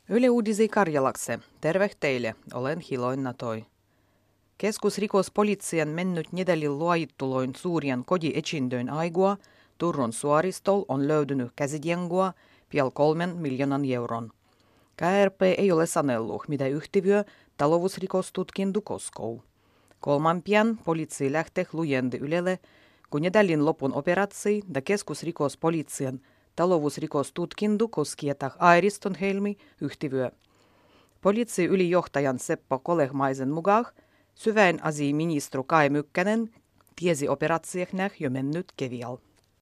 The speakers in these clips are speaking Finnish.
Yle Uudisi Karjalakse. Terve teille, olen Hiloina Toi. Keskusrikospolitsien mennyt nedelin luojittuloin suurien kodietsindöin aigua Turun suoristol on löydynyt käsitjengua piel 3 miljoonan euron. KRP ei ole sanellut, mitä yhtiö talousrikostutkintu koskoo. Kolman pian poliitsi lähtee lujendi Ylelle, kun nedelin lopun operatsi ja keskusrikospolitsien talousrikostutkintu koskietah Airiston Helmi yhtiö. Poliitsi ylijohtajan Seppo Kolehmaisen mukaan syväin asiaministru Kai Mykkänen tiesi operatsieknäh jo mennyt kevial.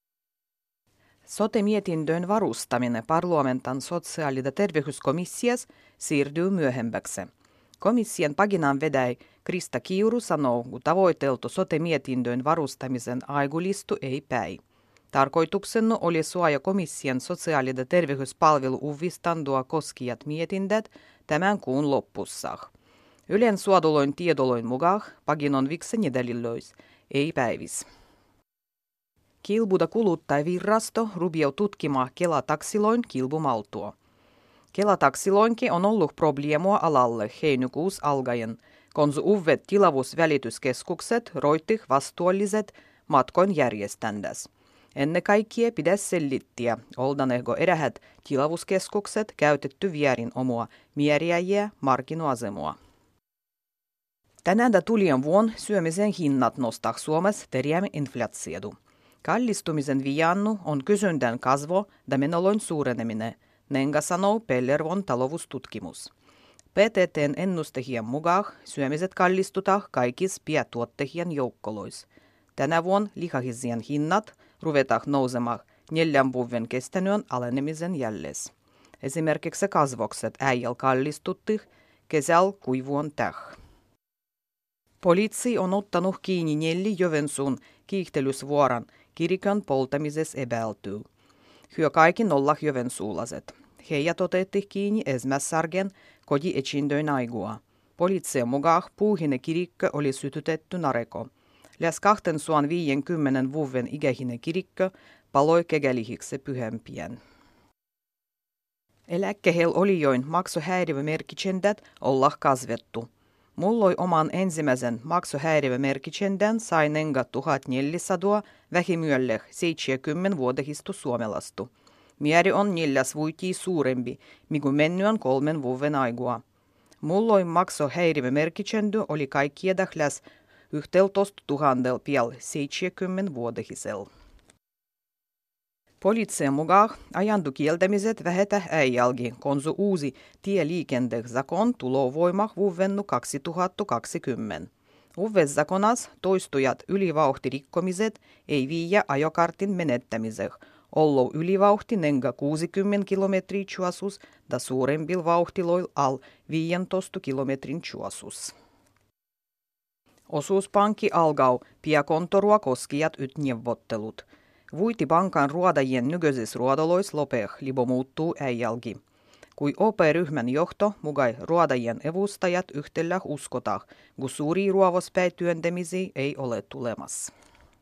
Sote-mietindön varustaminen parlamentan sosiaali- ja terveyskomissias siirtyy myöhemmäksi. Komission paginan vedäi Krista Kiuru sanoo, kun tavoiteltu sote-mietindön varustamisen aigulistu ei päi. Tarkoituksena oli suoja komission sosiaali- ja terveyspalvelu uvistandua koskijat mietindät tämän kuun loppussa. Ylen suoduloin tiedoloin mukaan paginon vikse nedelillois, ei päivis. Kilbuda kuluttajavirrasto rubiau tutkimaan Kela-taksiloin kilbumaltua. Kela-taksiloinki on ollut probleemua alalle heinäkuus algaen, kun uudet tilavuusvälityskeskukset roittih vastuulliset matkoin järjeständäs. Ennen kaikkea pitäisi selittiä, oldanehko erähät tilavuuskeskukset käytetty vierin omua mieriäjiä markkinoasemua. Tänään tulien vuon syömisen hinnat nostaa Suomessa terjäämme inflaatiodu. Kallistumisen viannu on kysyntän kasvo ja menoloin suureneminen, nenga sanoo Pellervon taloustutkimus. PTT:n ennustehien mukaan syömiset kallistutaan kaikissa piatuottehien joukkolois. Tänä vuonna lihahisien hinnat ruvetaan nousemaan 4 vuoden kestäneen alenemisen jälles. Esimerkiksi kasvokset äijäl kallistuttih kesäl kuivuon täh. Poliitsi on ottanut kiinni 4 Joensuun kiihtelysvuoran kirikön poltamisessa epäiltyy. Hyö kaikki 0 joensuulaiset. Heijät otettiin kiinni Esmässargen kodietsindöin aigua. Poliitsien mukaan puuhinen kirikkö oli sytytetty nareko. Läs 250 vuoden ikähinen kirikkö paloi kegälihiksi pyhempien. Eläkkehel olijoin maksuhäiriömerkitsendät olla kasvettu. Mulloi oman ensimmäisen maksuhäiriömerkitsendän sai nenga 1400 vähimyölle 70 vuodehistu suomelastu. Mieri on 4 vuotia suurempi, mikä mennyt 3 vuoden aigua. Mulloi maksuhäiriömerkitsendy oli kaikkiedah läs 11 000 piel 70 vuodehisel. Poliitsien mukaan ajandu kieltämiset vähetä äijälgi, kun uusi tieliikentezakon tuloo voimah vuodennu 2020. Uudessa zakonas toistujat ylivauhtirikkomiset ei viiä ajokartin menettämiseen, ollo ylivauhti nenga 60 kilometrin chuasus da suurembil vauhtiloil al 15 kilometrin chuasus. Osuuspankki algau piakontorua koskijat neuvottelut. Vuiti pankan ruodajien nykyises ruodolois lopeh libo muuttuu äijälgi. Kui OP-ryhmän johto mugai ruodajien evustajat yhtellä uskotah, kun suuri ruovospäityöntämisiä ei ole tulemassa.